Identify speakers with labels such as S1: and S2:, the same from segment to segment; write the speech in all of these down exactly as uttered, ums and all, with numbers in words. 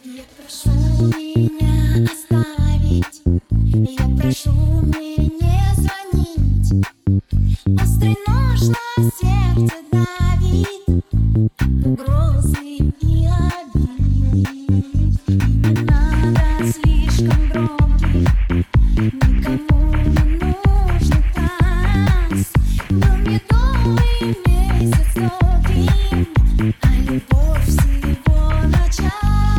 S1: Я прошу меня оставить, я прошу мне не звонить. Острый нож на сердце давит, угрозы и обид. Не надо слишком громких, никому не нужный танц. Был медовый месяц долгим, а любовь всего на час.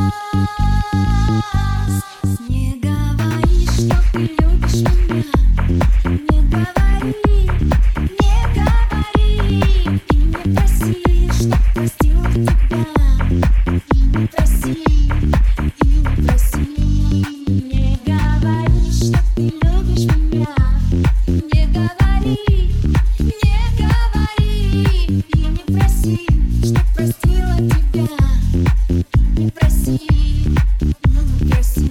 S1: Не говори, что ты любишь меня, не говори, не говори. И не проси, чтоб простила тебя, и не проси, и не проси. Не говори, что ты любишь меня, не говори, не говори. И не проси, чтоб простила тебя, и не проси, и не проси.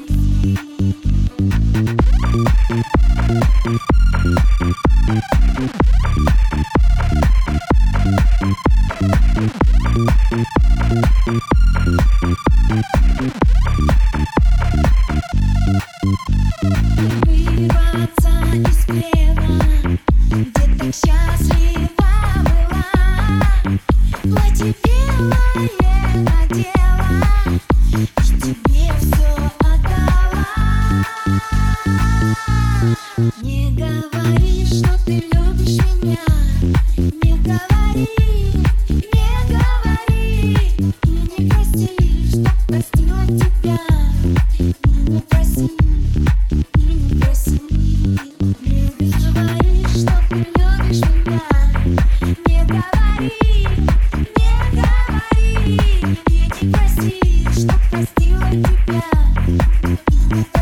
S1: Вырваться из плена, где так счастлива была. Платье белое надела и тебе все отдала. Не говори, что ты любишь меня, не говори, не говори. И не проси, чтоб простила тебя, и не проси, и не проси. Не говори, что ты любишь меня, не говори, не говори. И не проси, чтоб простила тебя, и не проси.